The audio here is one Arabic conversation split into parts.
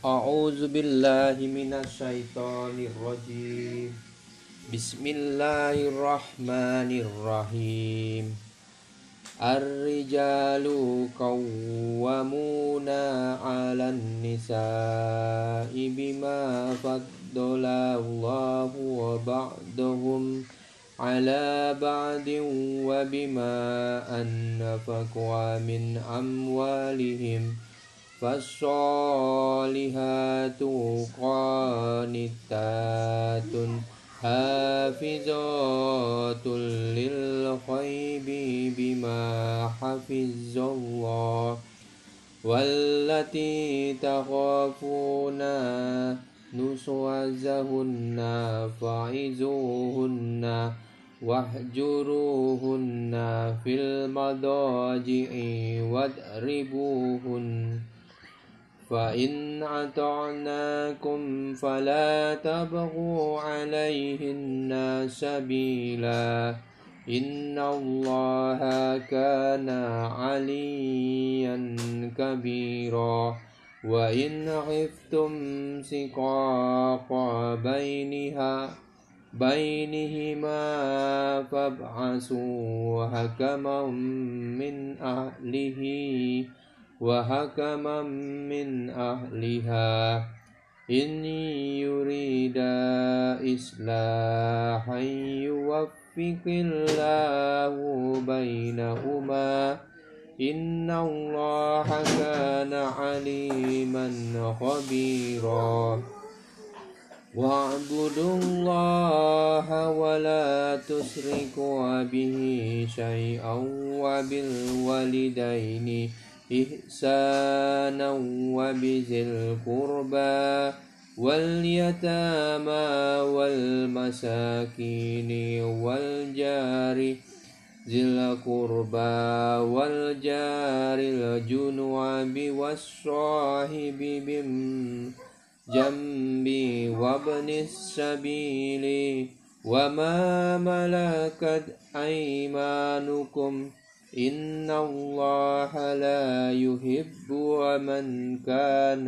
A'udzu billahi minasyaitonir rajim. Bismillahirrahmanirrahim. Ar-rijalu qawwamuna 'alan nisa'i bima faddala Allahu ba'dahum 'ala ba'din wa bima anfaqu min amwalihim. Fassolihatu qanitatun hafizatul lil ghaibi bima hafizallah wallati takhafuna nusuwazahunna fa'izuhunna wahjuruhunna fil madaji'i wadribuhunna فإن أطعناكم فلا تبغوا عليهن سبيلا إن الله كان عليا كبيرا وإن خفتم شقاق بينهما فابعثوا حكما من أهله وحكما من أهلها إن يريدا إصلاحا يوفق الله بينهما إن الله كان عليما خبيرا واعبدوا الله ولا تشركوا به شيئا وبالوالدين إحسانا وبذي القربى واليتامى والمساكين والجار ذي القربى والجار الجنوب والصاحب بالجنب وابن السبيل وما ملكت أيمانكم إن الله لا يحب من كان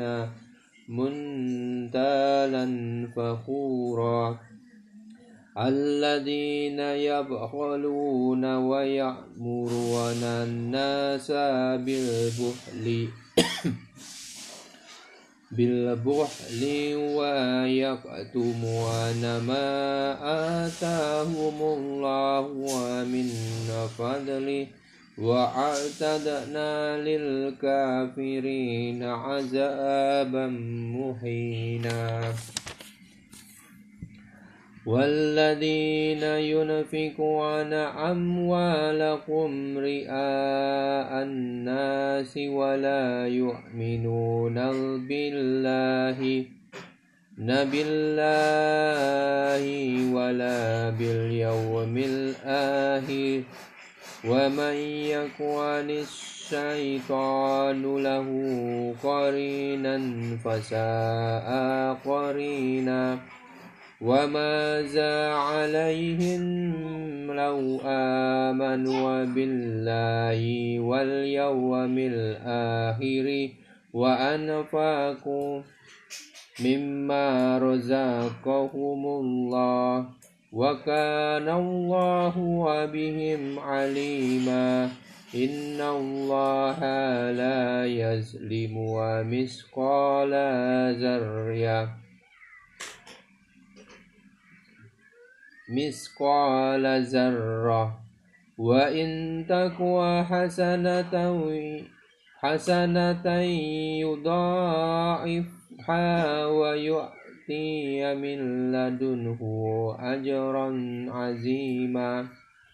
منتالا فخورا الذين يبخلون ويأمرون الناس بالبخل ويكتمون ما آتاهم الله من فضله وأعتدنا للكافرين عذابا مهينا والذين ينفقون أموالهم رئاء الناس ولا يؤمنون بالله ولا باليوم الآخر ومن يكن الشيطان له قرينا فساء قرينا وماذا عليهم لو آمنوا بالله واليوم الآخر وأنفقوا مما رزقهم الله وكان الله بهم عليما إن الله لا يظلم مثقال ذرة وإن تكو حسنة يضاعفها ويؤتي من لدنه أجرا عظيما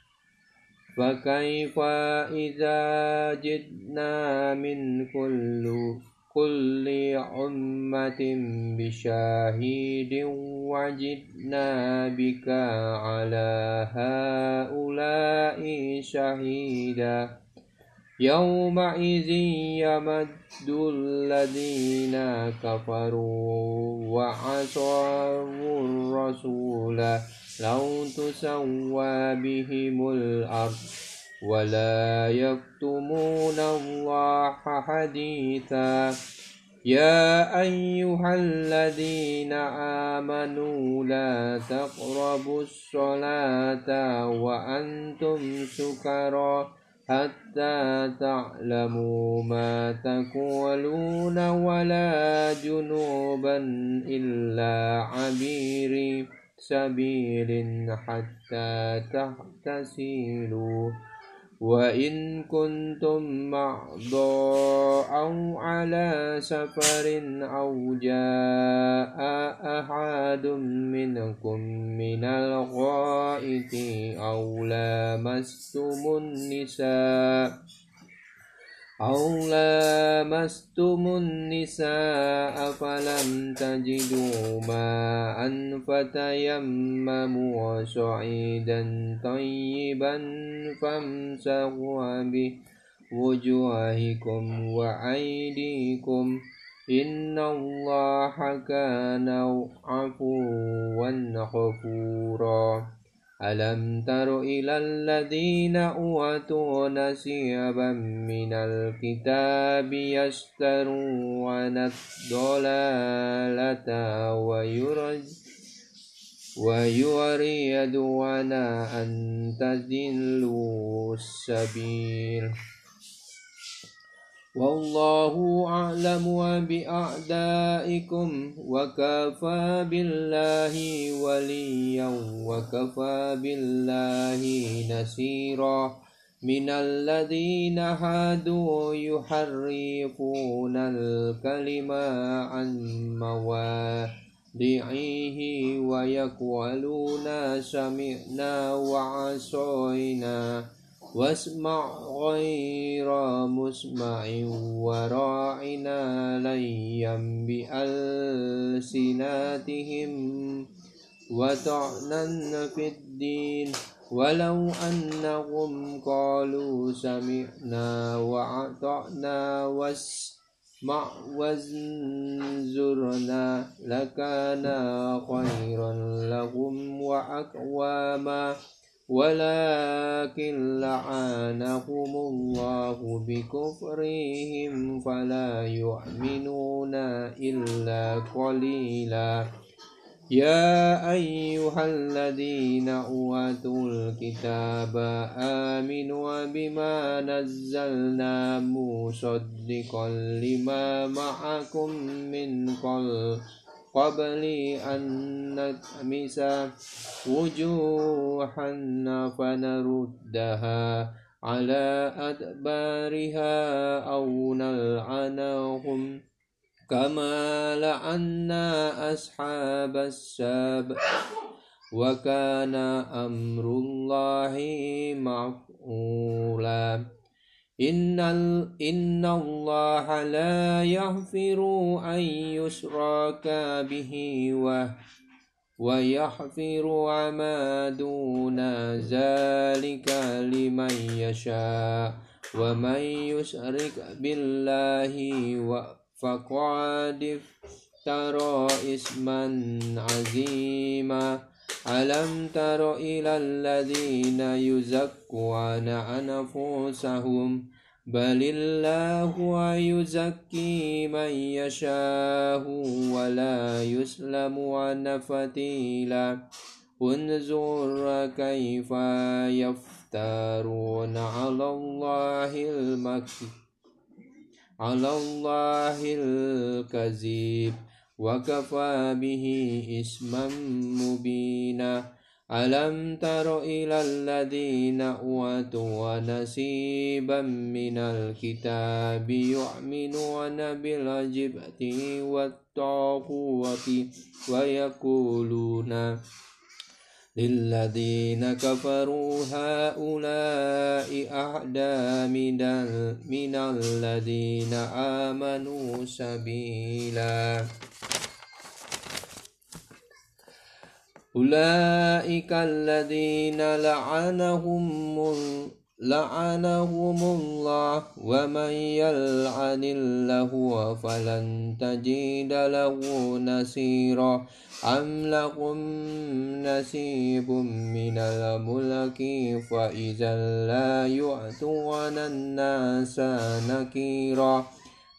فكيف إذا جئنا من كل أمة بشاهد وجئنا بك على هؤلاء شهيدا يومئذ يمد الذين كفروا وعصوا الرسول لو تسوى بهم الأرض ولا يكتمون الله حديثا يا أيها الذين آمنوا لا تقربوا الصلاة وأنتم سكارى حتى تعلموا ما تقولون ولا جنوبا إلا عبير سبيل حتى تغتسلوا وإن كنتم مرضى أو على سفر أو جاء أحد منكم من الغائط أو لامستم النساء فلم تجدوا ماء فتيمموا صعيدا طيبا فامسحوا بوجوهكم وأيديكم إن الله كان عفوا غفورا ألم تر إلى الذين أوتوا نصيبا من الكتاب يشترون الضلالة ويريدون أن تضلوا السبيل والله أعلم بأعدائكم وكفى بالله وليا وكفى بالله نصيرا من الذين هادوا يحرفون الكلم عن مواضعه ويقولون سمعنا وعصينا واسمع غير مسمع وراعنا ليا بألسنتهم وطعنا في الدين ولو أنهم قالوا سمعنا وأطعنا واسمع وانظرنا لكان خيرا لهم وأقواما ولكن لعنهم الله بكفرهم فلا يؤمنون إلا قليلا يا أيها الذين أوتوا الكتاب آمنوا بما نزلنا مصدقا لما معكم من قبل أن نطمس وجوها فنردها على أدبارها أو نلعنهم كما لعنا أصحاب السبت وكان أمر الله مفعولا إن الله لا يغفر أن يشرك به ويغفر ما دون ذلك لمن يشاء ومن يشرك بالله فقد افترى إثما عظيما ألم تر إلى الذين يزكون أنفسهم بل الله يزكي من يشاء ولا يسلم عن فتيلا انظر كيف يفترون على الله الكذب وكفى به إثما مبينا ألم تر إلى الذين أوتوا نصيبا من الكتاب يؤمنون بالجبت والطاغوت ويقولون للذين كفروا هؤلاء أهدى من الذين آمنوا سبيلا أولئك الذين لعنهم الله ومن يلعن الله فلن تجد له نصيرا أم لهم نصيب من الملك فإذا لا يؤتون الناس نكيرا